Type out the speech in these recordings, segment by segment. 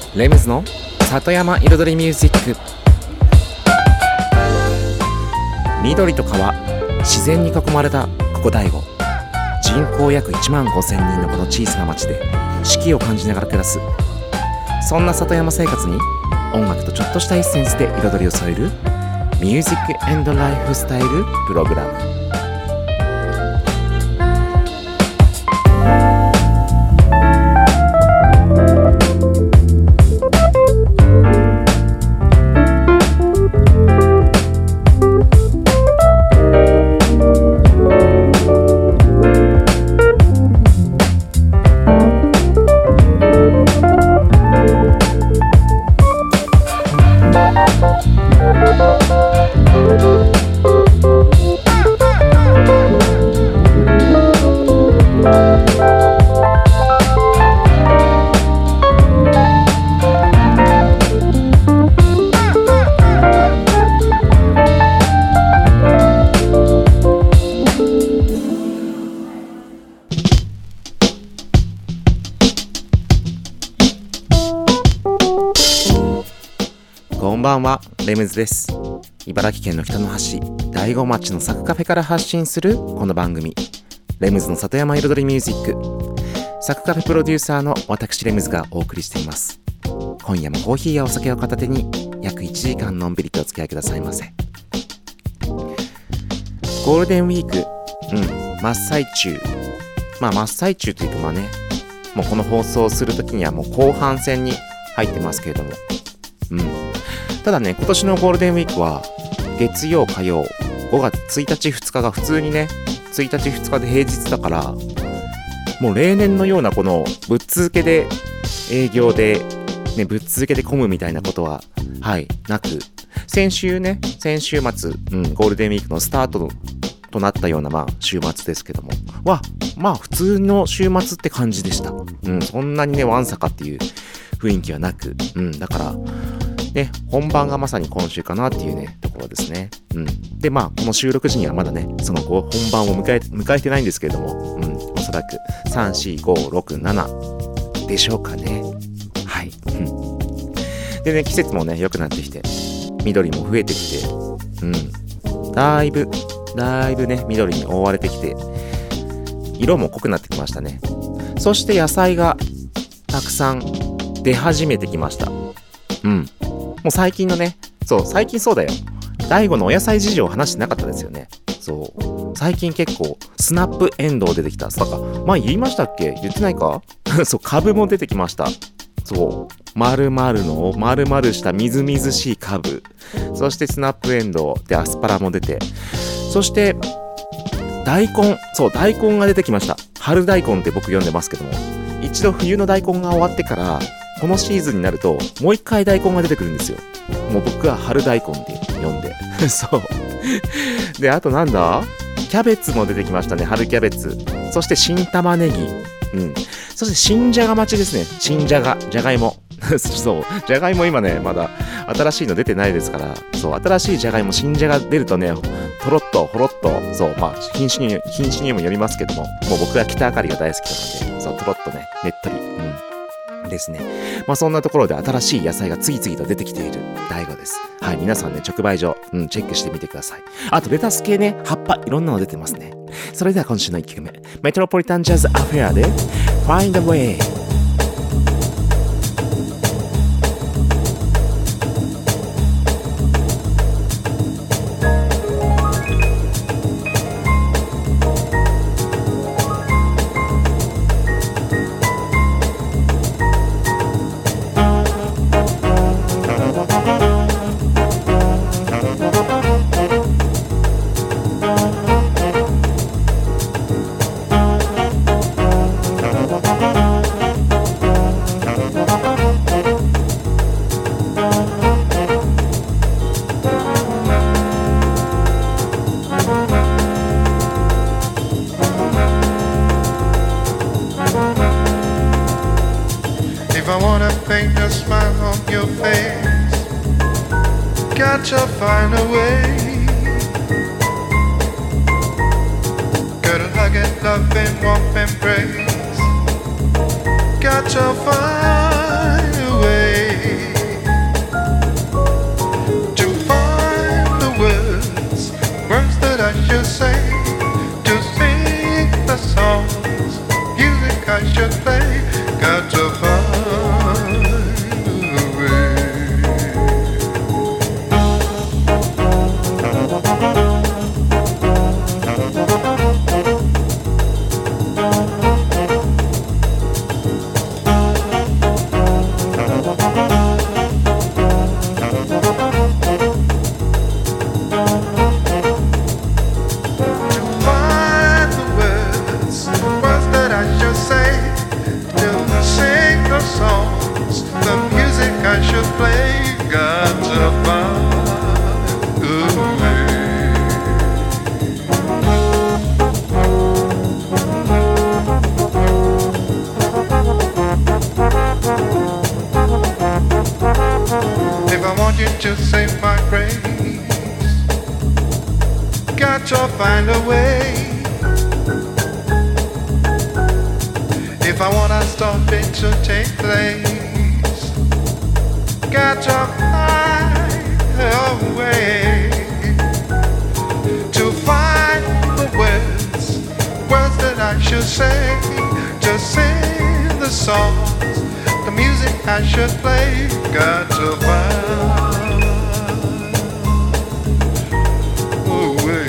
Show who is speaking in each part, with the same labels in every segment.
Speaker 1: レムズの里山彩りミュージック。緑と川、自然に囲まれたここ大悟。人口約1万5千人のこの小さな町で四季を感じながら暮らす、そんな里山生活に音楽とちょっとしたエッセンスで彩りを添えるミュージック&ライフスタイルプログラム。こんばんは、レムズです。茨城県の北の端、大子町のサクカフェから発信するこの番組、レムズの里山彩りミュージック。サクカフェプロデューサーの私レムズがお送りしています。今夜もコーヒーやお酒を片手に約1時間のんびりとお付き合いくださいませ。ゴールデンウィーク、真っ最中。真っ最中というかもうこの放送をするときにはもう後半戦に入ってますけれども、ただね、今年のゴールデンウィークは月曜火曜5月1日2日が普通にね、1日2日で平日だから、もう例年のようなこのぶっ続けで営業でね、ぶっ続けで混むみたいなことはなく、先週末、ゴールデンウィークのスタートとなったような週末ですけども、普通の週末って感じでした。そんなにねわんさかっていう雰囲気はなく、だからね、本番がまさに今週かなっていうねところですね。でこの収録時にはまだねその本番を迎えてないんですけれども、おそらく3、4、5、6、7でしょうかね。でね、季節もね良くなってきて、緑も増えてきて、だいぶね緑に覆われてきて、色も濃くなってきましたね。そして野菜がたくさん出始めてきました。もう最近のね、最近そうだよ。大悟のお野菜事情を話してなかったですよね。最近結構スナップエンドウ出てきた。言いましたっけ？言ってないか？株も出てきました。丸々したみずみずしい株。そしてスナップエンドウでアスパラも出て、そして大根が出てきました。春大根って僕呼んでますけども、一度冬の大根が終わってからこのシーズンになるともう一回大根が出てくるんですよ。もう僕は春大根って呼んでで、あとキャベツも出てきましたね。春キャベツ、そして新玉ねぎ、そして新じゃが待ちですね。新じゃがいもじゃがいも今ねまだ新しいの出てないですから、新しいじゃがいも、新じゃが出るとね、とろっとほろっと、品種にもよりますけども、もう僕は北あかりが大好きなので、とろっとね、ねっとり、ですね。そんなところで新しい野菜が次々と出てきている大悟です。皆さんね、直売所、チェックしてみてください。あとレタス系ね、葉っぱいろんなの出てますね。それでは今週の1曲目、メトロポリタンジャズアフェアで Find a way。If I wanna paint a smile on your face, gotta find a way. Gotta hug and love and warm embrace, gotta find a way.
Speaker 2: to save my grace. Got to find a way. If I wanna stop it to take place, got to find a way to find the words that I should say, to sing the songs, the music I should play. Got to find a way.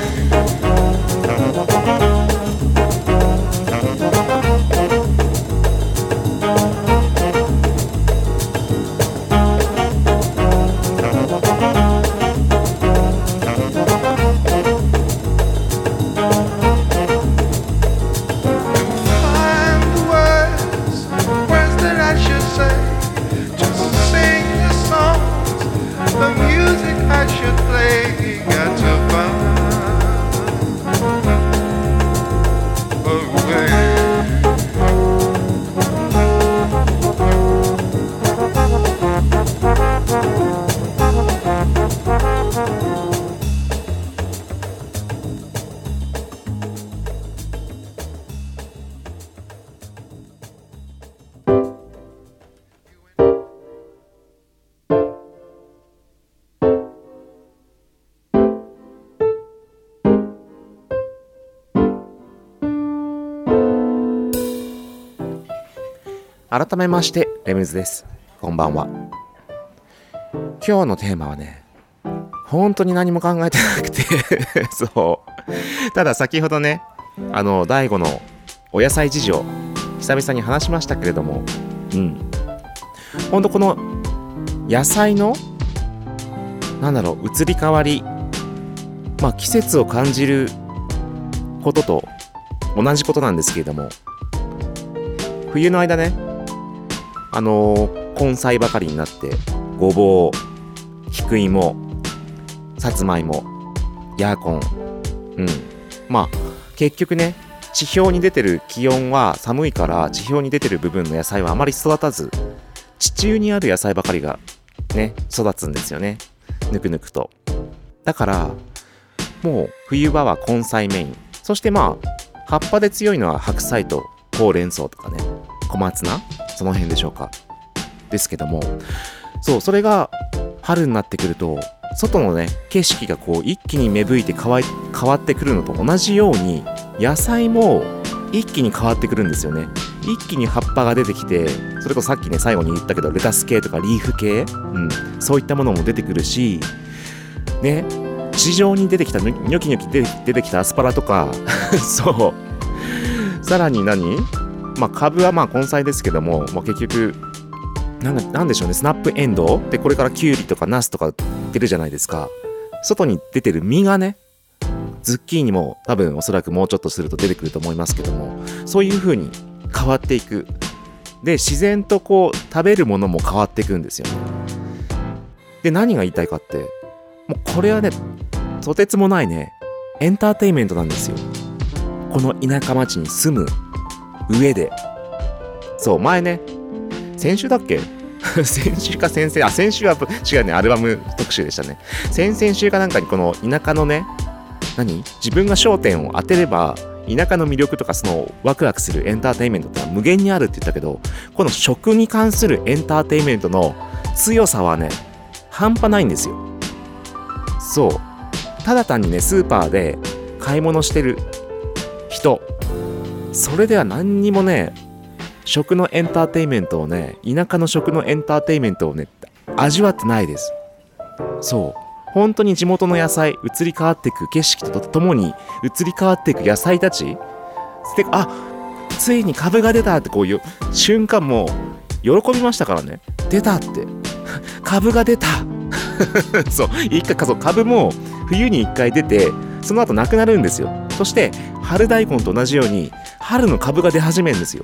Speaker 1: 改めましてレムズです。こんばんは。今日のテーマはね、本当に何も考えてなくてそうただ先ほどね、第5のお野菜事情久々に話しましたけれども、本当この野菜の移り変わり、季節を感じることと同じことなんですけれども、冬の間ね、根菜ばかりになってごぼう、菊芋、さつまいも、ヤーコン、結局ね、地表に出てる気温は寒いから、地表に出てる部分の野菜はあまり育たず、地中にある野菜ばかりがね育つんですよね、ぬくぬくと。だからもう冬場は根菜メイン、そして葉っぱで強いのは白菜とほうれん草とかね、小松菜、その辺でしょうか。ですけども、それが春になってくると、外のね景色がこう一気に芽吹いて変わってくるのと同じように、野菜も一気に変わってくるんですよね。一気に葉っぱが出てきて、それこそさっきね最後に言ったけど、レタス系とかリーフ系、そういったものも出てくるしね、地上に出てきたニョキニョキ出てきたアスパラとかそうさらに株は根菜ですけども、結局なんでしょうね、スナップエンドウで、これからキュウリとかナスとか出るじゃないですか。外に出てる実がね、ズッキーニも多分おそらくもうちょっとすると出てくると思いますけども、そういう風に変わっていく。で、自然とこう食べるものも変わっていくんですよね。で、何が言いたいかって、もうこれはね、とてつもないねエンターテインメントなんですよ、この田舎町に住む上で。そう前ね、先週だっけ先週か先週は違うね、アルバム特集でしたね。先々週かなんかにこの田舎のね、自分が焦点を当てれば田舎の魅力とかそのワクワクするエンターテインメントってのは無限にあるって言ったけど、この食に関するエンターテインメントの強さはね半端ないんですよ。そうただ単にねスーパーで買い物してる人、それでは何にもね食のエンターテインメントをね、田舎の食のエンターテインメントをね味わってないです。そう本当に地元の野菜、移り変わっていく景色とともに移り変わっていく野菜たちで、ついに株が出たってこういう瞬間も喜びましたからね。出たって株が出たそう株も冬に1回出て、その後なくなるんですよ。そして春大根と同じように春の株が出始めるんですよ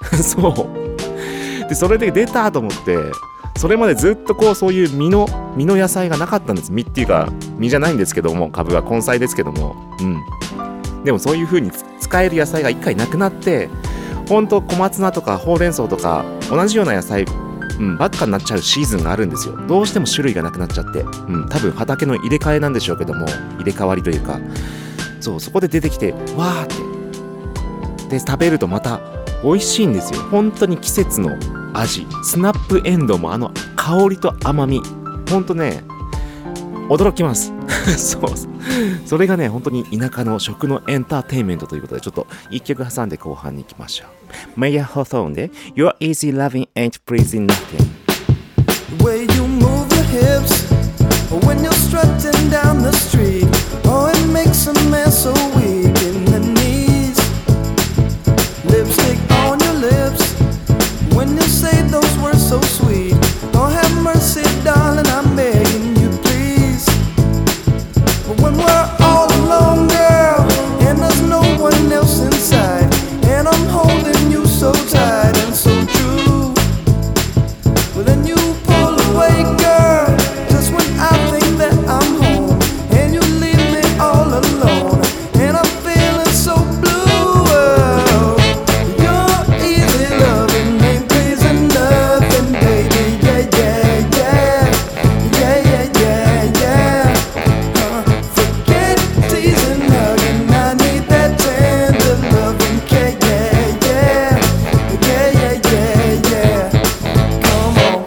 Speaker 1: そうで、それで出たと思って、それまでずっとこうそういう実の野菜がなかったんです。実っていうか実じゃないんですけども、株は根菜ですけども、でもそういう風に使える野菜が一回なくなって、ほんと小松菜とかほうれん草とか同じような野菜、 ばっかになっちゃうシーズンがあるんですよ。どうしても種類がなくなっちゃって、多分畑の入れ替えなんでしょうけども、入れ替わりというか、そこで出てきてわーってで食べるとまた美味しいんですよ。本当に季節の味。スナップエンドウも香りと甘み、本当ね驚きますそれがね本当に田舎の食のエンターテインメントということで、ちょっと一曲挟んで後半に行きましょう。メイヤー・ホーソーンで Your Easy Loving Ain't Pleasing Nothing。
Speaker 3: The way you move your hips when you're strutting down the street, oh it makes a man so weak in the knees. Lipstick on your lips when you say those words so sweet, oh have mercy darling, I'm begging you please. But when we're all alone girl and there's no one else inside, and I'm holding you so tight and so true, well then you pull away girl just when I think that I'm home, and you leave me all alone, and I'm feeling so blue. Oh, your easy loving ain't pleasing nothing, baby. Yeah, yeah, yeah. Yeah, yeah, yeah, yeah. Forget teasing, hugging, I need that tender loving. Yeah, yeah, yeah. Yeah, yeah, yeah, yeah. Come on.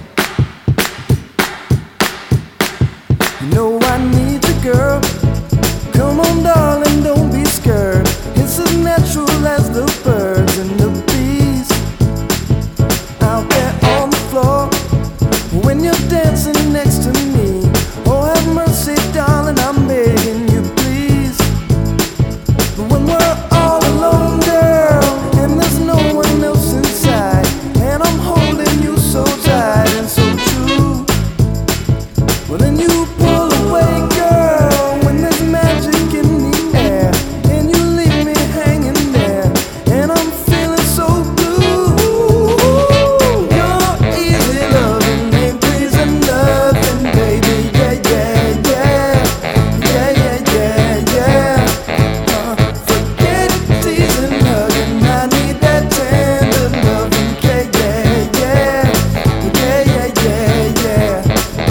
Speaker 3: You know I need you, girl. Come on, darling, don't be scared. It's as natural as the birds and the bees out there on the floor when you're dancing next to me. Oh, have mercy, darling, I'm begging you, please. But when we're all alone, girl, and there's no one else inside, and I'm holding you so tight and so true, well then you pull away, girl, when there's magic in the air, and you leave me hanging there, and I'm feeling so blue. Your easy loving ain't pleasing nothing, baby. Yeah, yeah, yeah. Yeah, yeah, yeah, yeah. Forget teasing, hugging, I need that tender loving. Yeah, yeah, yeah. Yeah, yeah, yeah, yeah.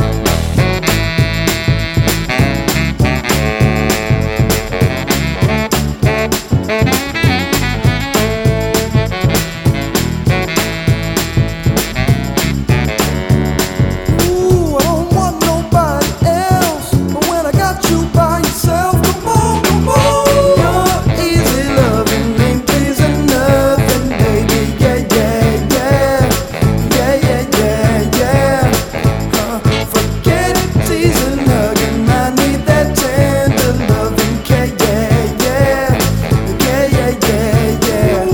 Speaker 3: Ooh, I don't want nobody else, but when I got you by yourself, come on, come on. Your easy loving ain't pleasing nothing, baby. Yeah, yeah, yeah. Yeah, yeah, yeah, yeah. Forget teasing, hugging, I need that tender loving. Yeah, yeah, yeah. Yeah, yeah, yeah, yeah.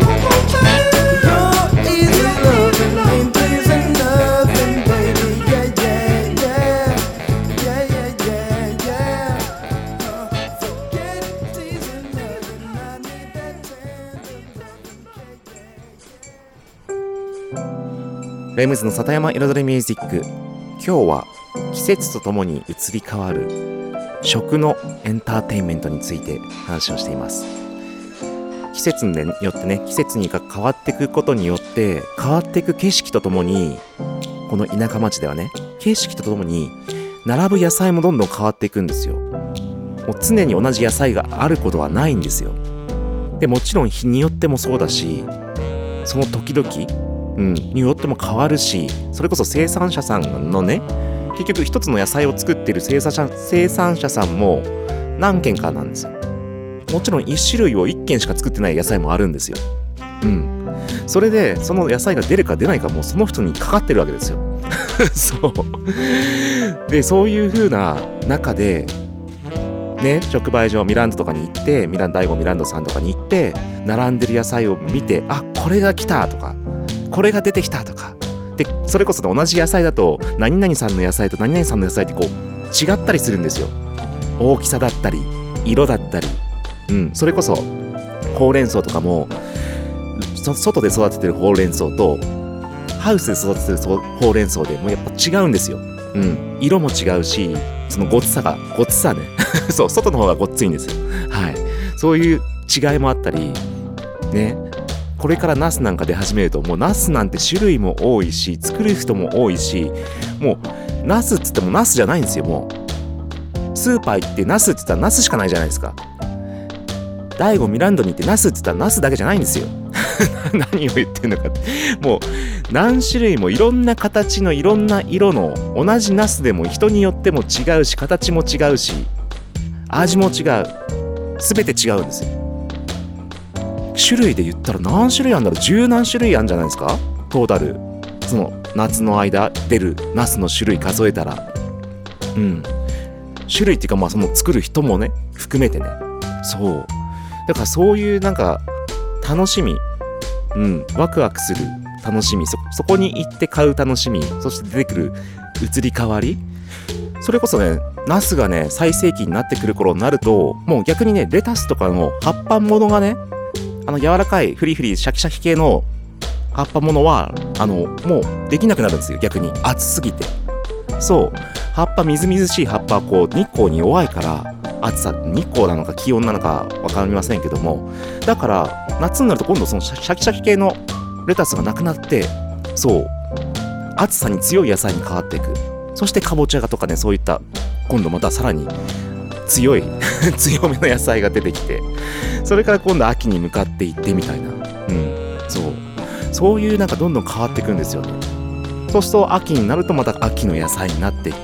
Speaker 3: Your easy loving ain't pleasing nothing, baby. Yeah, yeah, yeah. Yeah, yeah, yeah, yeah. Forget teasing, hugging, I need that tender loving.
Speaker 1: レムズの里山彩りミュージック。今日は季節とともに移り変わる食のエンターテインメントについて話をしています。季節によってね、季節に変わっていくことによって変わっていく景色とともに、この田舎町ではね、景色とともに並ぶ野菜もどんどん変わっていくんですよ。もう常に同じ野菜があることはないんですよ。でもちろん日によってもそうだし、その時々によっても変わるし、それこそ生産者さんのね、結局一つの野菜を作ってる生産者さんも何軒かなんですよ。もちろん一種類を1軒しか作ってない野菜もあるんですよ。それでその野菜が出るか出ないかもうその人にかかってるわけですよ。そうで、そういう風な中でね、直売所ミランドとかに行って、第5ミランドさんとかに行って並んでる野菜を見て、あ、これが来たとか、これが出てきたとかで、それこそ同じ野菜だと何々さんの野菜と何々さんの野菜ってこう違ったりするんですよ。大きさだったり色だったり、それこそほうれん草とかも外で育ててるほうれん草とハウスで育ててるほうれん草でもうやっぱ違うんですよ。色も違うし、そのごつさねそう、外の方がごっついんですよ。はい、そういう違いもあったりね、 これからナスなんか出始めると、もうナスなんて種類も多いし、作る人も多いし、もうナスっつってもナスじゃないんですよ。もうスーパー行ってナスっつったらナスしかないじゃないですか。大悟ミランドに行ってナスっつったらナスだけじゃないんですよ。何を言ってんのかって、もう何種類もいろんな形のいろんな色の同じナスでも人によっても違うし、形も違うし、味も違う、全て違うんですよ。種類で言ったら何種類あるんだろう。十何種類あるんじゃないですか、トータル。その夏の間出るナスの種類数えたら、種類っていうか、まあその作る人もね含めてね。そうだからそういうなんか楽しみ、ワクワクする楽しみ、そこに行って買う楽しみ、そして出てくる移り変わり、それこそね、ナスがね最盛期になってくる頃になると、もう逆にねレタスとかの葉っぱものがね、柔らかいフリフリシャキシャキ系の葉っぱものはもうできなくなるんですよ。逆に暑すぎて。そう、葉っぱみずみずしい葉っぱはこう日光に弱いから、暑さ、日光なのか気温なのか分かりませんけども、だから夏になると今度そのシャキシャキ系のレタスがなくなって、そう暑さに強い野菜に変わっていく。そしてかぼちゃがとかね、そういった今度またさらに強い強めの野菜が出てきて、それから今度秋に向かっていってみたいな、そういうなんかどんどん変わっていくんですよね。そうすると秋になるとまた秋の野菜になっていって、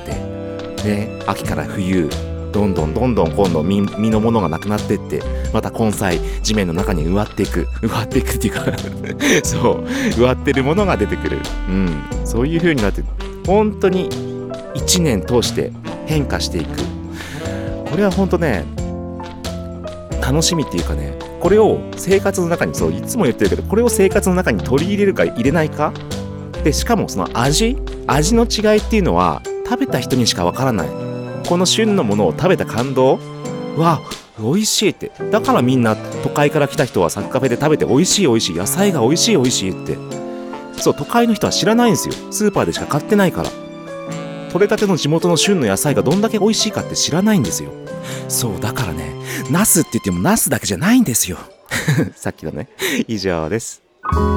Speaker 1: ね、秋から冬どんどん今度実のものがなくなっていって、また根菜地面の中に植わっていくっていうかそう植わってるものが出てくる、そういう風になって、本当に1年通して変化していく。これは本当ね楽しみっていうかね、これを生活の中に、そういつも言ってるけど、これを生活の中に取り入れるか入れないかで、しかもその味の違いっていうのは食べた人にしかわからない。この旬のものを食べた感動は美味しいって。だからみんな都会から来た人はサッカフェで食べて美味しい野菜が美味しいって、そう都会の人は知らないんですよ。スーパーでしか買ってないから。取れたての地元の旬の野菜がどんだけ美味しいかって知らないんですよ。そうだからね、ナスって言ってもナスだけじゃないんですよ。さっきのね。以上です。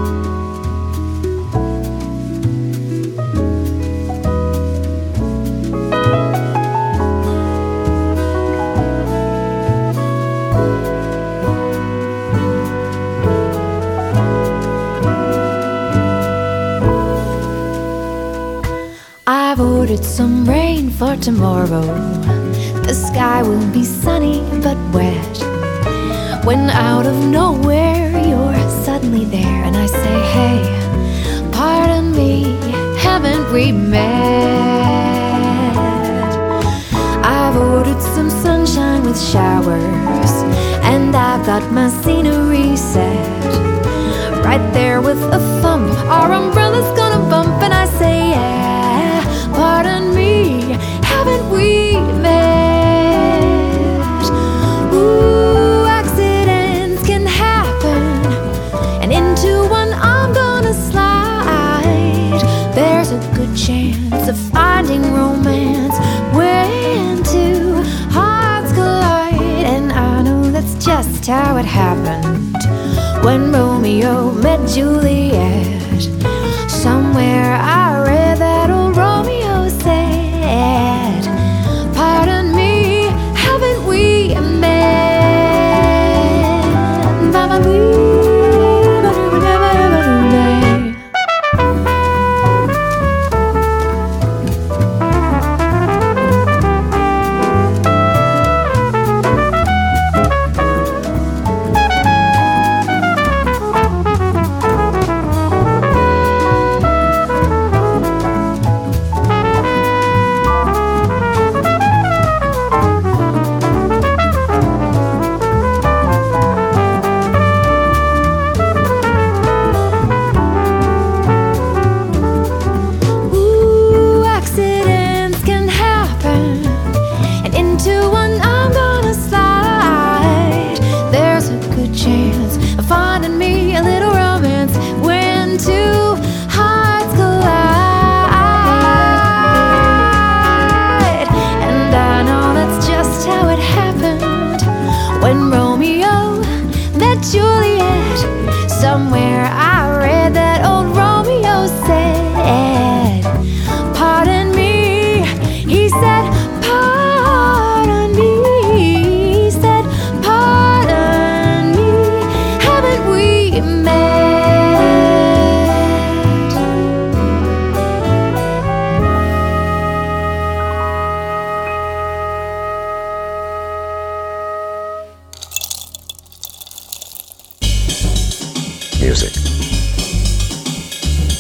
Speaker 4: I've ordered some rain for tomorrow. The sky will be sunny but wet. When out of nowhere you're suddenly there, and I say, hey, pardon me, haven't we met? I've ordered some sunshine with showers, and I've got my scenery set right there with a thump. Our umbrella's gonna bump, and I say, yeah, pardon me, haven't we met? Ooh, accidents can happen, and into one I'm gonna slide. There's a good chance of finding romance when two hearts collide, and I know that's just how it happened when Romeo met Juliet. Somewhere I read that old Romeo said, pardon me, haven't we met?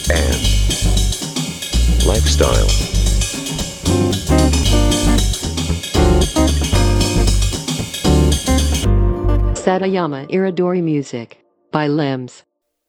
Speaker 5: and lifestyle.
Speaker 6: Satayama Iridori Music by Limbs.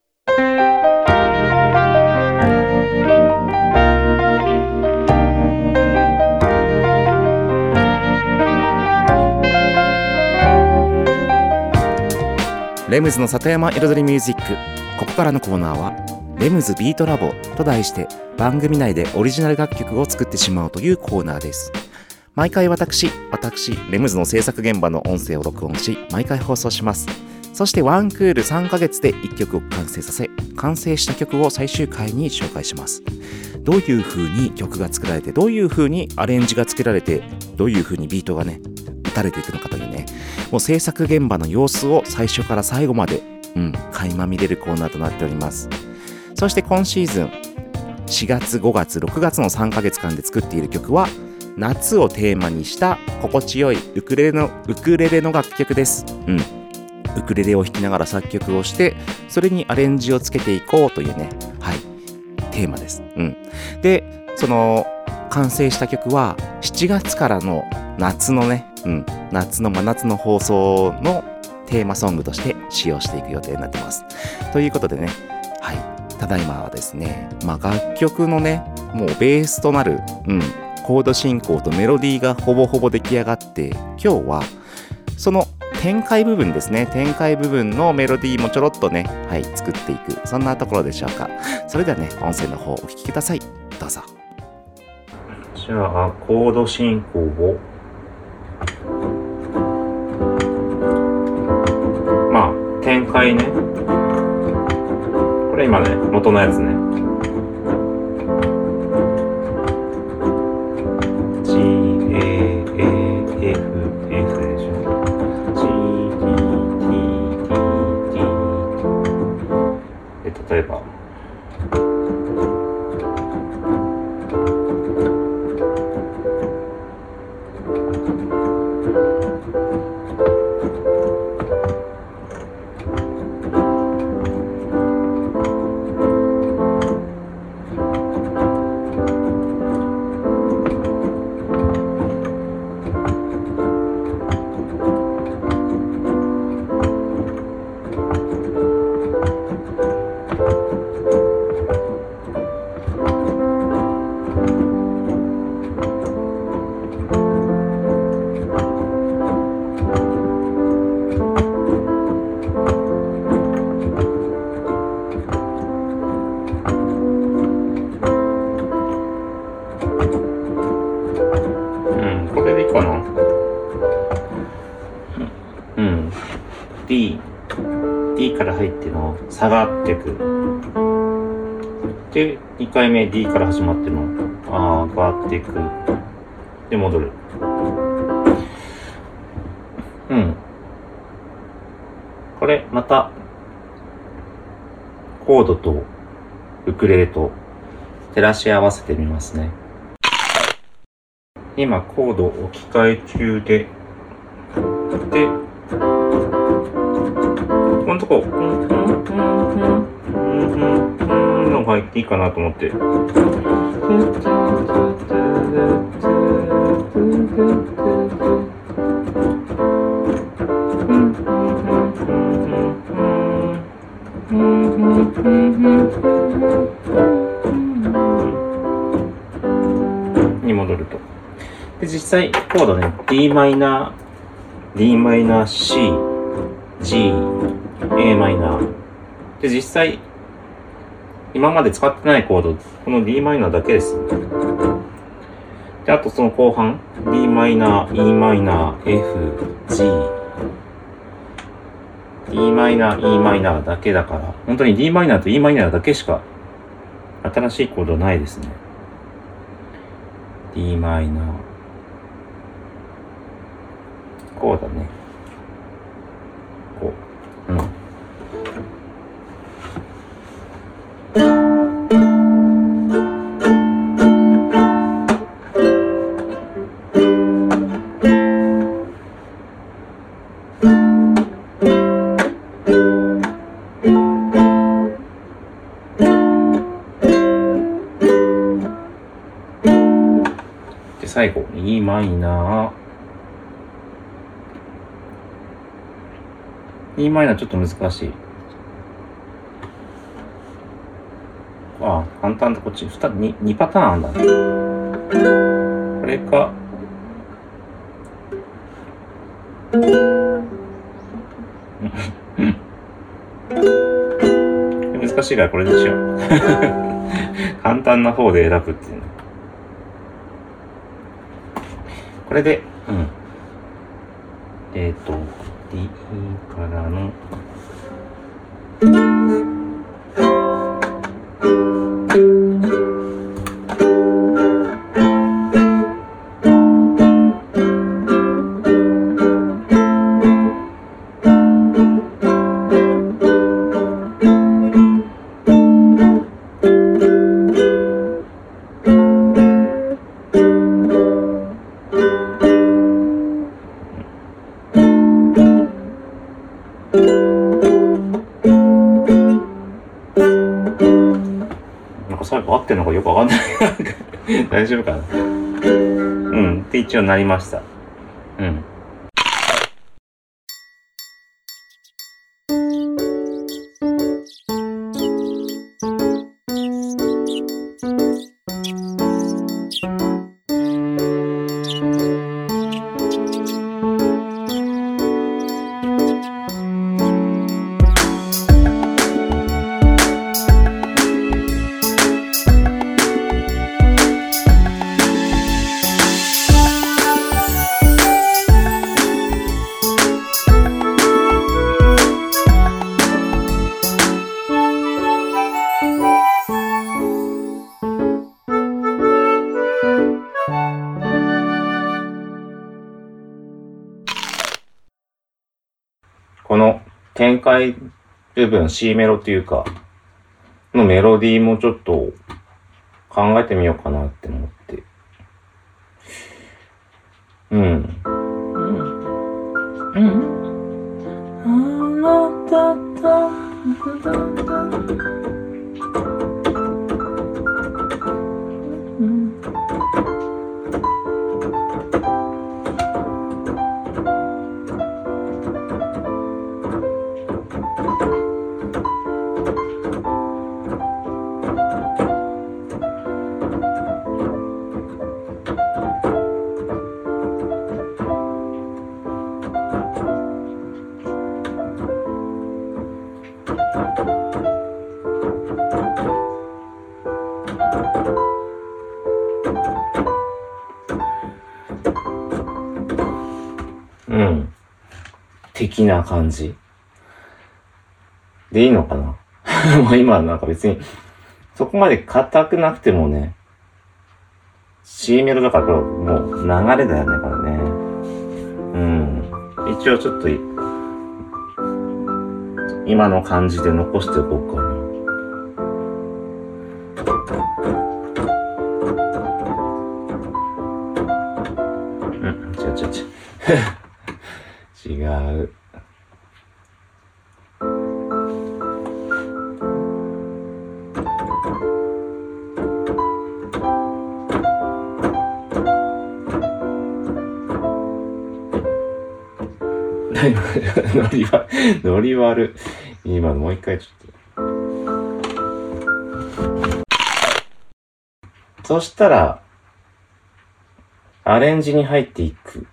Speaker 1: レムズの里山彩りミュージック。ここからのコーナーはレムズビートラボと題して番組内でオリジナル楽曲を作ってしまうというコーナーです。毎回私レムズの制作現場の音声を録音し毎回放送します。そしてワンクール3ヶ月で1曲を完成させ、完成した曲を最終回に紹介します。どういう風に曲が作られて、どういう風にアレンジがつけられて、どういう風にビートがね打たれていくのかというね、もう制作現場の様子を最初から最後まで垣間見れるコーナーとなっております。そして今シーズン4月5月6月の3ヶ月間で作っている曲は夏をテーマにした心地よいウクレレの楽曲です。ウクレレを弾きながら作曲をして、それにアレンジをつけていこうというね、テーマです。で、その完成した曲は7月からの夏のね、夏の真夏の放送のテーマソングとして使用していく予定になってます。ということでね、ただいまはですね、楽曲のね、もうベースとなる、コード進行とメロディーがほぼほぼ出来上がって、今日はその展開部分ですね、展開部分のメロディーもちょろっとね、作っていく、そんなところでしょうか。それではね、音声の方お聞きください。どうぞ。じゃあコード進行を展開ね、これ今ね元のやつね、 G A A F F でしょ、 G D T T T で、例えばD から入っての下がってくで、2回目 D から始まっての上がってくで戻る。これまたコードとウクレレと照らし合わせてみますね。今コード置き換え中で、このとこのが入っていいかなと思って、に戻ると。で、実際コードね、D マイナー C G A マイナーで、実際今まで使ってないコードこの D マイナーだけです。で、あとその後半 D マイナー E マイナー F G D マイナー E マイナーだけだから、本当に D マイナーと E マイナーだけしか新しいコードないですね。 D マイナーこうだね、こう、 最後、E マイナー。E マイナーちょっと難しい。あ、簡単だ、こっち。2パターンあんだね。これか。難しいからこれにしよう。簡単な方で選ぶっていうの。これで、D からの、最後合ってるのかよくわかんない。大丈夫かな。って一応なりました。この展開部分、C メロっていうか、のメロディーもちょっと考えてみようかなって思って。的な感じでいいのかな。もう今なんか別にそこまで硬くなくてもね、C メロだからこれもう流れだよね、これね。一応ちょっと今の感じで残しておこうかな。違う。ノリ悪。今のもう一回ちょっと。そしたら、アレンジに入っていく。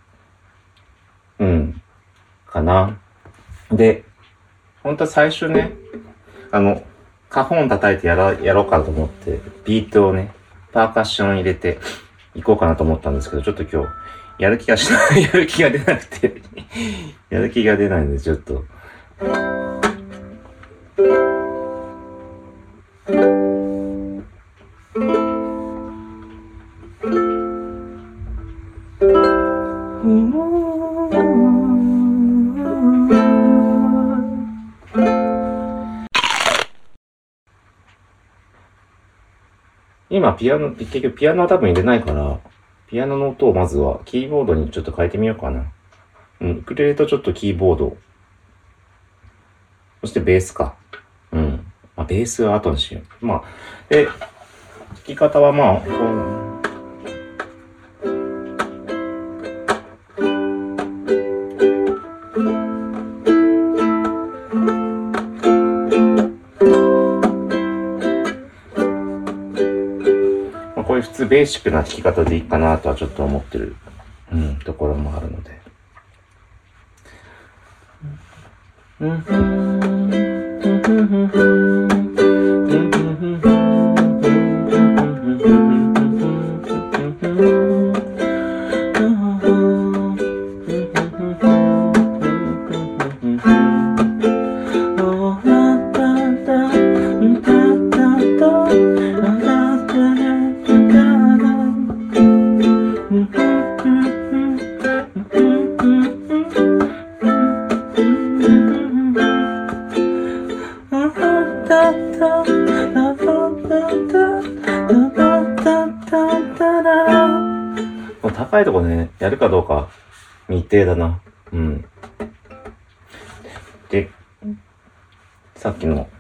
Speaker 1: かな。で、本当は最初ね、カホン叩いてやろうかと思って、ビートをね、パーカッション入れていこうかなと思ったんですけど、ちょっと今日、やる気が出なくて、やる気が出ないので、ちょっと。今結局ピアノは多分入れないから、ピアノの音をまずはキーボードにちょっと変えてみようかな。ウクレレとちょっとキーボード。そしてベースか。ベースは後にしよう。で、弾き方はいう普通ベーシックな弾き方でいいかなとはちょっと思ってる、ところもあるので。高いとこね、やるかどうか未定だな。で、さっきの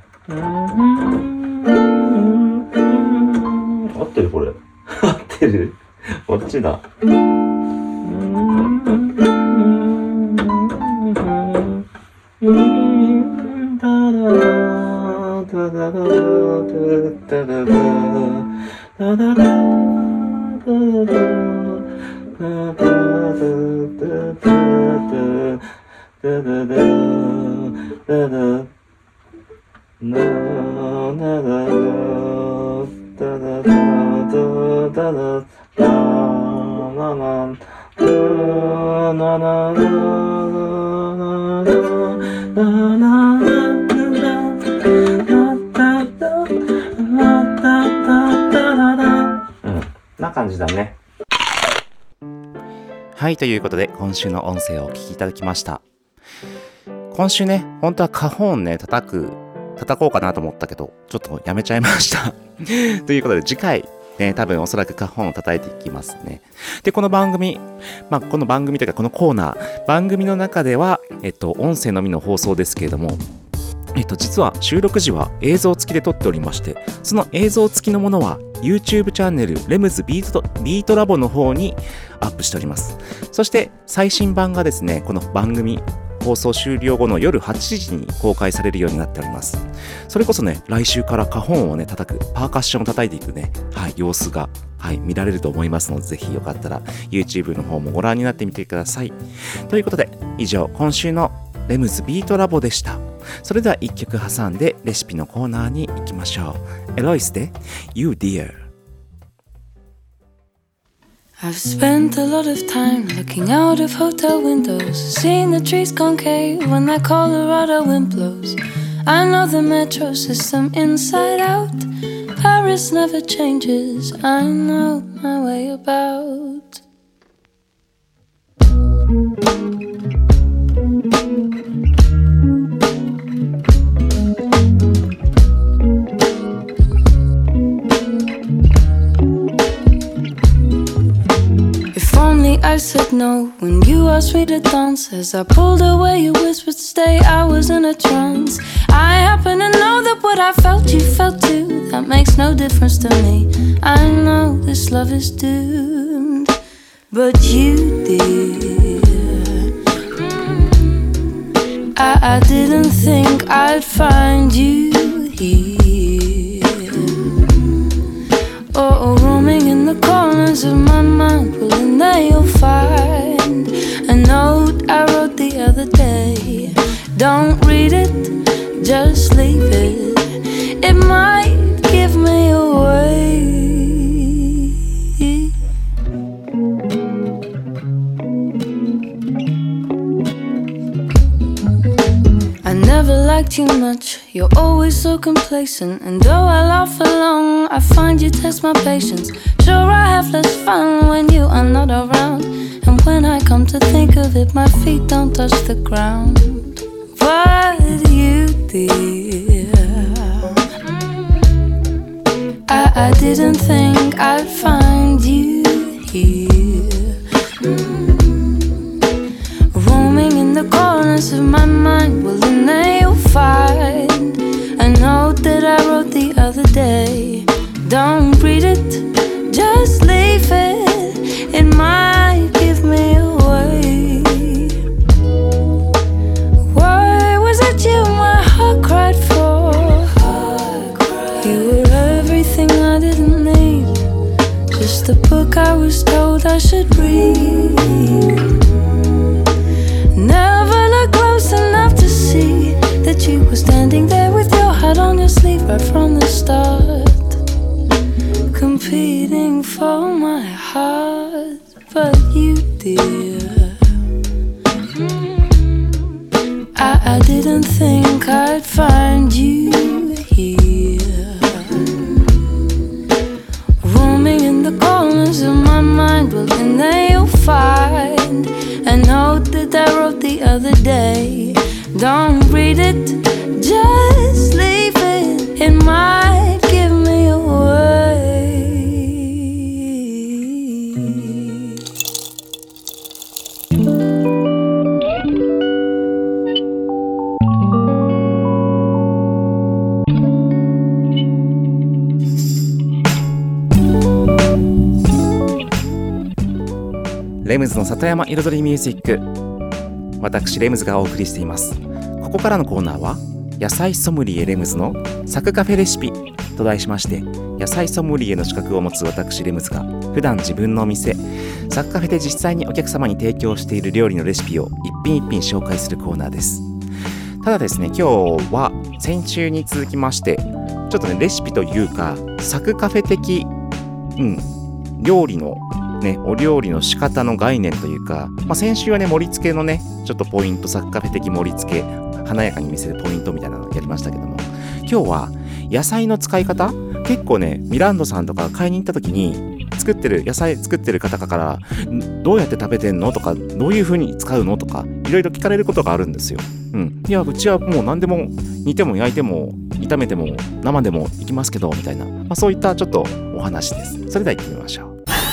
Speaker 1: 合ってるこれ。合ってる？こっちだ。な感じだね。はい、ということで今週の音声をお聞きいただきました。今週ね、本当はカホーンね叩こうかなと思ったけどちょっとやめちゃいましたということで次回ね、多分おそらくカホンを叩いていきますね。で、この番組この番組というかこのコーナー、番組の中では音声のみの放送ですけれども、実は収録時は映像付きで撮っておりまして、その映像付きのものは YouTube チャンネルレムズビートラボの方にアップしております。そして最新版がですね、この番組放送終了後の夜8時に公開されるようになっております。それこそね、来週からカホンをね叩く、パーカッションを叩いていくね、様子が見られると思いますので、ぜひよかったら YouTube の方もご覧になってみてください。ということで、以上今週のレムズビートラボでした。それでは一曲挟んでレシピのコーナーに行きましょう。エロイスで You Dear。I've
Speaker 5: spent a lot of time looking out of hotel windows, seeing the trees concave when that Colorado wind blows. I know the metro system inside out. Paris never changes. I know my way about.I said no when you asked me to dance. As I pulled away, you whispered stay. I was in a trance. I happen to know that what I felt, you felt too. That makes no difference to me. I know this love is doomed, but you did. I didn't think I'd find you here.Oh, roaming in the corners of my mind. Well, in there you'll find a note I wrote the other day. Don't read it, just leave it. It might give me away. I never liked you much. You're always so complacent. And though I laugh along, I find you test my patience. Sure, I have less fun when you are not around. And when I come to think of it, my feet don't touch the ground. But you did. I didn't think I'd find you here.Roaming in the corners of my mind. Well, in there you'll find a note that I wrote the other day. Don't read it, just leave it. It might give me away. Why was it you my heart cried for? You were everything I didn't need. just the book I was told I should read. Never looked close enough to see that you were standing there with your heart on your sleeve right from the start, competing for my heart. But you, dear, I didn't think I'd find you here, roaming in the corners of my mind. Well, in there you'll find a note that I wrote the other day. Don't read it, just leave it. It might give me away.
Speaker 1: レムズの里山彩りミュージック、私レムズがお送りしています。ここからのコーナーは野菜ソムリエレムズのサクカフェレシピと題しまして、野菜ソムリエの資格を持つ私レムズが普段自分のお店サクカフェで実際にお客様に提供している料理のレシピを一品一品紹介するコーナーです。ただですね、今日は先週に続きましてちょっとねレシピというかサクカフェ的、料理のね、お料理の仕方の概念というか、先週はね盛り付けのねちょっとポイント、サクカフェ的盛り付け、華やかに見せるポイントみたいなのをやりましたけども、今日は野菜の使い方、結構ねミランドさんとか買いに行った時に野菜作ってる方からどうやって食べてんのとか、どういう風に使うのとかいろいろ聞かれることがあるんですよ。いやうちはもう何でも煮ても焼いても炒めても生でもいきますけどみたいな、そういったちょっとお話です。それでは行ってみましょう。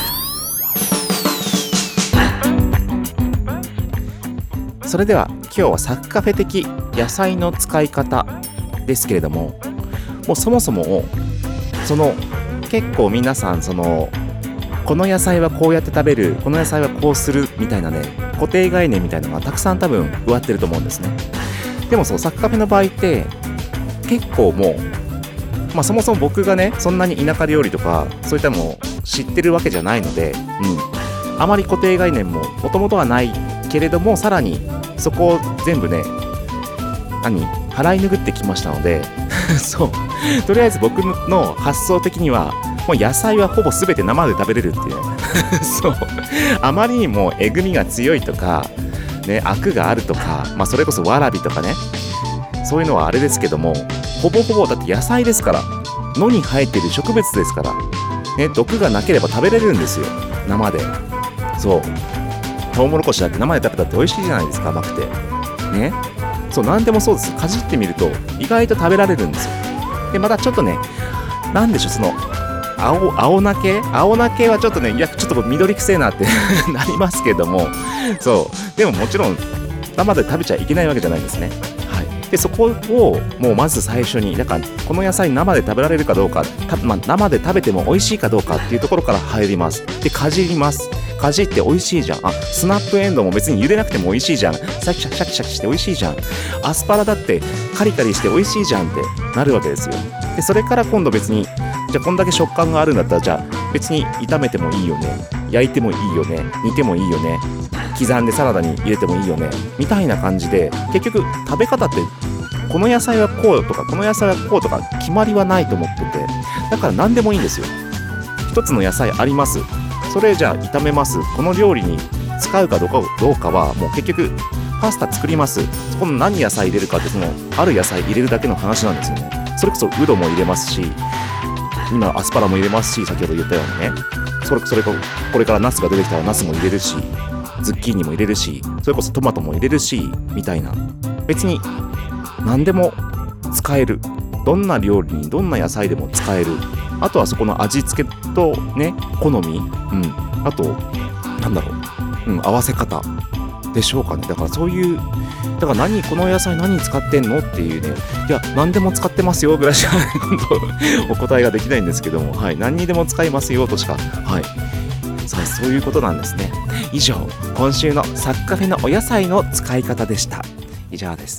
Speaker 1: それでは今日はサクカフェ的野菜の使い方ですけれども、もうそもそも結構皆さんこの野菜はこうやって食べる、この野菜はこうするみたいなね固定概念みたいなのがたくさん多分植わってると思うんですね。でもサクカフェの場合って結構もう、そもそも僕がねそんなに田舎料理とかそういったのを知ってるわけじゃないので、あまり固定概念ももともとはないけれども、さらにそこを全部ね払い拭ってきましたのでとりあえず僕の発想的にはもう野菜はほぼ全て生で食べれるっていうねあまりにもえぐみが強いとかね、アクがあるとか、それこそわらびとかね、そういうのはあれですけども、ほぼほぼだって野菜ですから、野に生えている植物ですからね、毒がなければ食べれるんですよ、生で。トウモロコシだって生で食べたって美味しいじゃないですか、甘くてね。何でもそうです。かじってみると意外と食べられるんですよ。でまたちょっとね、なんでしょう、青菜系はちょっとね、いやちょっと緑くせえなってなりますけども、でももちろん生で食べちゃいけないわけじゃないですね。でそこをもうまず最初に、だからこの野菜生で食べられるかどうか、生で食べても美味しいかどうかっていうところから入ります。でかじります。かじって美味しいじゃん。スナップエンドウも別に茹でなくても美味しいじゃん。シャキシャキして美味しいじゃん。アスパラだってカリカリして美味しいじゃんってなるわけですよ。でそれから今度別に、じゃあこんだけ食感があるんだったら、じゃあ別に炒めてもいいよね、焼いてもいいよね、煮てもいいよね、刻んでサラダに入れてもいいよねみたいな感じで、結局食べ方ってこの野菜はこうとかこの野菜はこうとか決まりはないと思ってて、だから何でもいいんですよ。一つの野菜あります、それじゃあ炒めます。この料理に使うかどうかはもう結局パスタ作ります。そこの何野菜入れるかって、ある野菜入れるだけの話なんですよね。それこそウドも入れますし、今アスパラも入れますし、先ほど言ったようにね、これからナスが出てきたらナスも入れるし、ズッキーニも入れるし、それこそトマトも入れるしみたいな、別に何でも使える、どんな料理にどんな野菜でも使える。あとはそこの味付けとね、好み、あと合わせ方でしょうかね。だからそういう、だからこの野菜何使ってんのっていうね、いや何でも使ってますよぐらいしか今度お答えができないんですけども、何にでも使いますよとしか、そういうことなんですね。以上、今週のサクカフェのお野菜の使い方でした。以上です。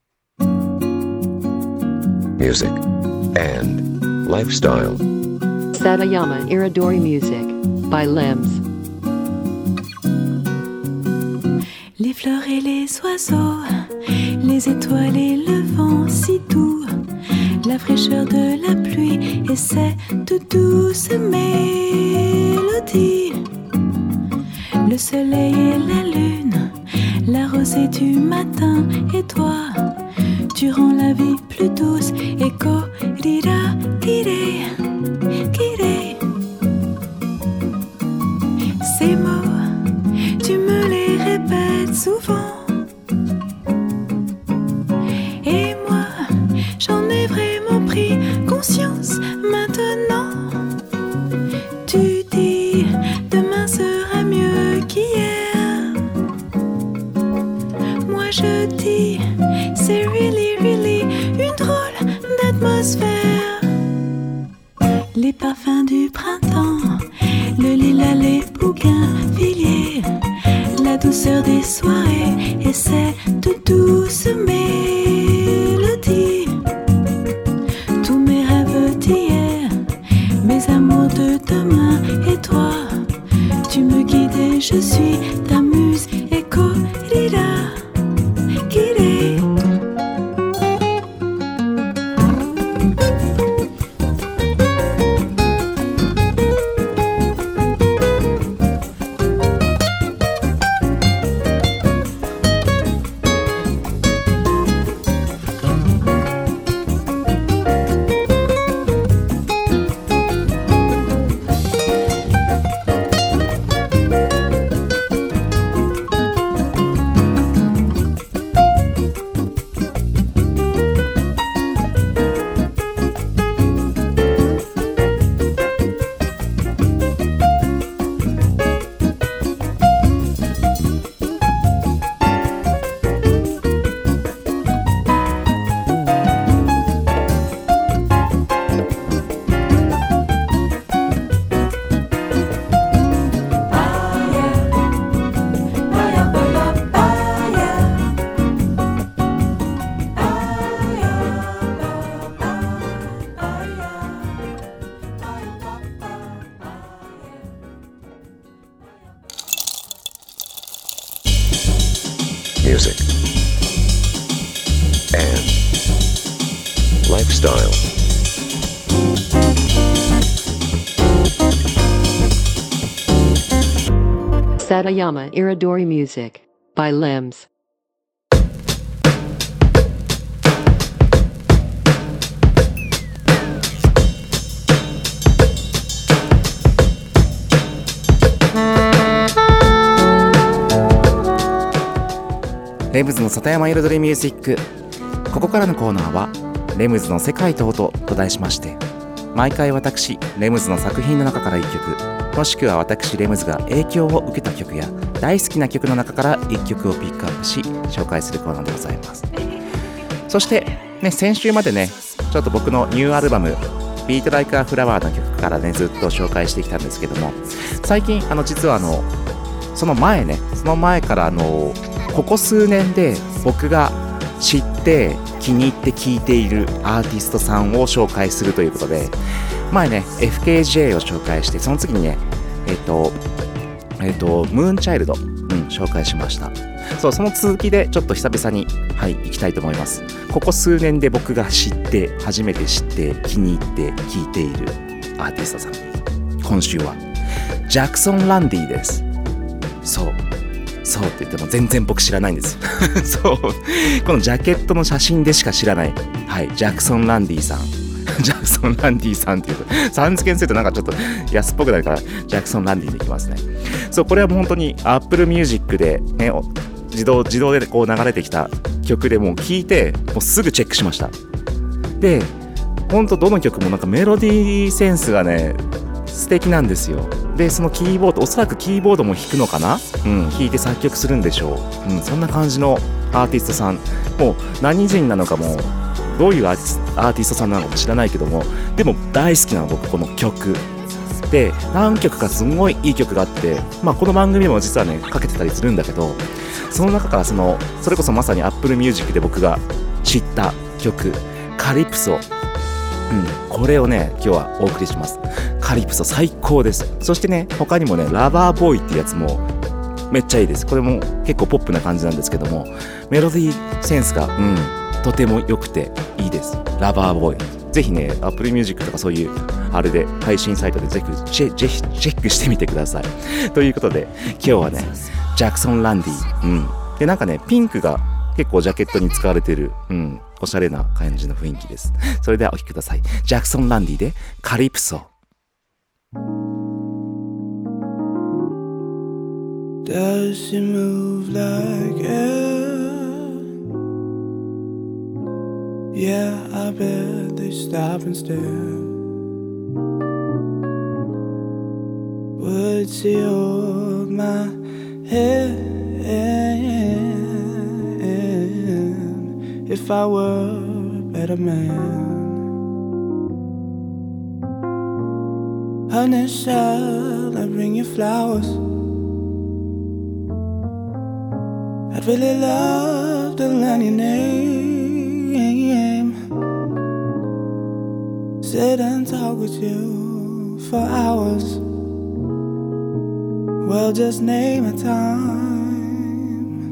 Speaker 7: Music and lifestyle.
Speaker 6: Satayama Iridori Music by Limbs.
Speaker 7: Les fleurs et les oiseaux, les étoiles et le vent si doux, la fraîcheur de la pluie et cette douce mélodie, le soleil et la lune, la rosée du matin et toi, tu rends la vie plus douce. Echo, rira, kirei, kirei. Ces mots, tu me les répètes souvent. Et moi, j'en ai vraiment pris conscience maintenant. Tu dis, demain sera mieux qu'hier. Moi je dis, c'est really, really une drôle d'atmosphère. Les parfums du printemps, le lilas, les bougainvilliers, la douceur des soirées et cette douce mélodie. Tous mes rêves d'hier, mes amours de demain et toi, tu me guides et je suis ta muse. Echo, rira, kirei.
Speaker 8: Music and lifestyle.
Speaker 6: Satayama Iridori Music by Limbs.
Speaker 1: レムズの里山彩りミュージック。ここからのコーナーはレムズの世界と音と題しまして、毎回私レムズの作品の中から1曲、もしくは私レムズが影響を受けた曲や大好きな曲の中から1曲をピックアップし紹介するコーナーでございます。そしてね、先週までねちょっと僕のニューアルバムビートライクアフラワーの曲からねずっと紹介してきたんですけども、最近実はその前からここ数年で僕が知って気に入って聴いているアーティストさんを紹介するということで、前ね FKJ を紹介して、その次にねムーンチャイルド、紹介しました。その続きでちょっと久々に行きたいと思います。ここ数年で僕が初めて知って気に入って聴いているアーティストさん、今週はジャクソン・ランディです。そうって言っても全然僕知らないんですそう、このジャケットの写真でしか知らない、ジャクソン・ランディさんジャクソン・ランディさんっていうとさん付けにするとなんかちょっと安っぽくなるからジャクソン・ランディでいきますね。これはもう本当に Apple Music で、ね、自動でこう流れてきた曲でもう聴いてもうすぐチェックしました。で本当どの曲もなんかメロディーセンスがね素敵なんですよ。でそのキーボード、おそらくキーボードも弾くのかな、弾いて作曲するんでしょう、そんな感じのアーティストさん、もう何人なのかもどういうアーティストさんなのかも知らないけども、でも大好きなの僕この曲で、何曲かすごいいい曲があって、この番組も実はねかけてたりするんだけど、その中からそれこそまさに Apple Music で僕が知った曲カリプソ、これをね今日はお送りします。 カリプソ最高です。そしてね、他にもね、ラバーボーイっていうやつもめっちゃいいです。これも結構ポップな感じなんですけども、メロディーセンスがとても良くていいです。ラバーボーイ、ぜひね Apple Music とかそういうあれで配信サイトでぜひチェックしてみてください。ということで今日はねジャクソン・ランディ、でなんかねピンクが結構ジャケットに使われてる、おしゃれな感じの雰囲気です。それではお聴きください。ジャクソン・ランディでカリプソ。
Speaker 3: Does she move like air? Yeah, I bet they stop and stare. Would she hold my hand if I were a better man? Honey, shall I bring you flowers? I'd really love to learn your name, sit and talk with you for hours. Well, just name a time.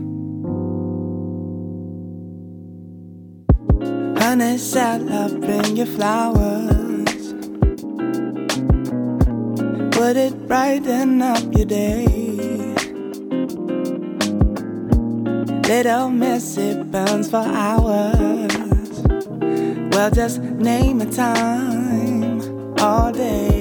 Speaker 3: Honey, shall I bring you flowers? Would it brighten up your day? Little messy burns for hours. Well, just name a time all day.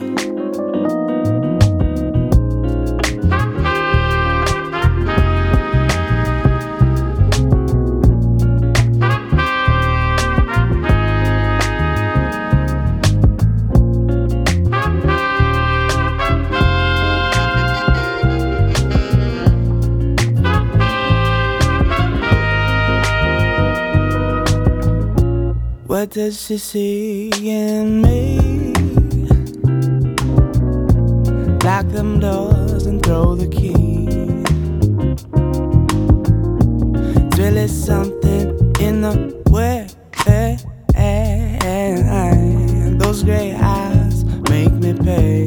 Speaker 3: What does she see in me? Lock them doors and throw the key. It's really something in the way. Those gray eyes make me pay.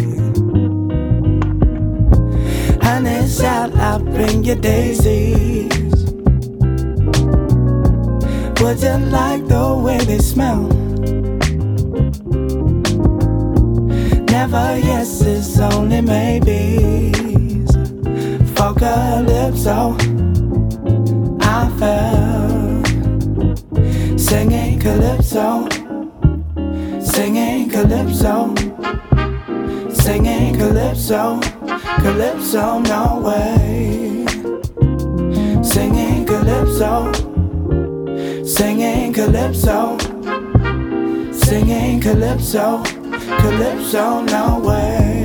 Speaker 3: Honey, shall I bring you daisies? Would you like the way they smell? Never yeses, only maybes. For calypso, I fell singing calypso, singing calypso, singing calypso, calypso, no way. Singing calypso, singing calypso, singing calypso, calypso, no way.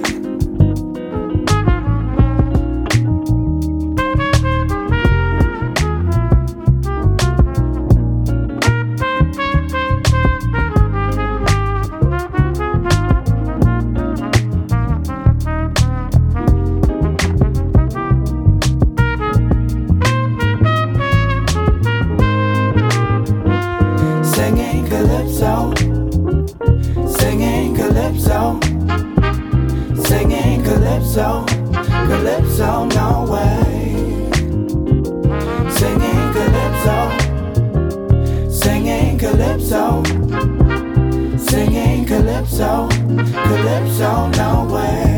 Speaker 3: Calypso, no way. Singing calypso, singing calypso, singing calypso, calypso, no way.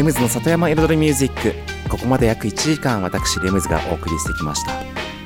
Speaker 1: ムズの里山彩りミュージック、ここまで約1時間私レムズがお送りしてきました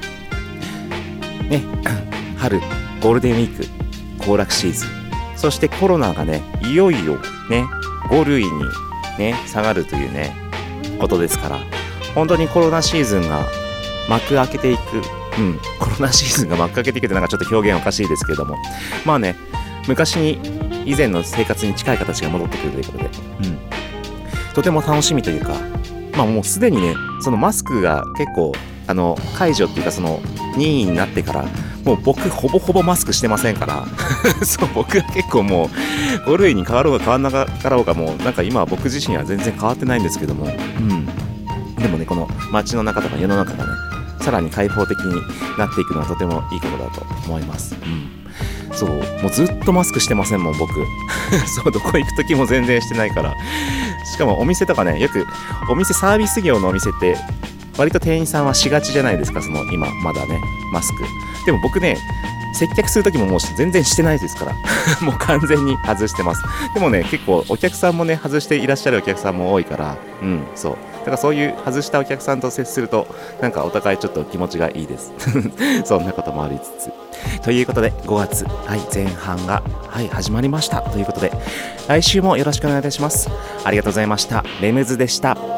Speaker 1: ね。春ゴールデンウィーク行楽シーズン、そしてコロナがねいよいよね5類にね下がるというねことですから、本当にコロナシーズンが幕開けていく、コロナシーズンが幕開けていくってなんかちょっと表現おかしいですけれども、まあね、昔に以前の生活に近い形が戻ってくるということで、とても楽しみというか、まあもうすでにね、そのマスクが結構解除っていうかその任意になってから、もう僕ほぼほぼマスクしてませんからそう、僕は結構もう5類に変わろうが変わんなかろうが、もうなんか今は僕自身は全然変わってないんですけども、でもね、この街の中とか世の中がねさらに開放的になっていくのはとてもいいことだと思います。そう、もうずっとマスクしてませんもん僕そう、どこ行く時も全然してないから。しかもお店とかね、よくお店、サービス業のお店って割と店員さんはしがちじゃないですか、その今まだねマスク。でも僕ね、接客する時ももう全然してないですからもう完全に外してます。でもね、結構お客さんもね外していらっしゃるお客さんも多いから、そうだからそういう外したお客さんと接するとなんかお互いちょっと気持ちがいいですそんなこともありつつ、ということで5月、前半が始まりましたということで、来週もよろしくお願いいたします。ありがとうございました。レムズでした。